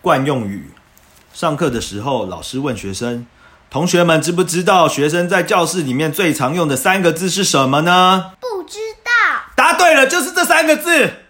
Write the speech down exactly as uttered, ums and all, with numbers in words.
惯用语。上课的时候，老师问学生：同学们知不知道学生在教室里面最常用的三个字是什么呢？ 不知道。 答对了，就是这三个字。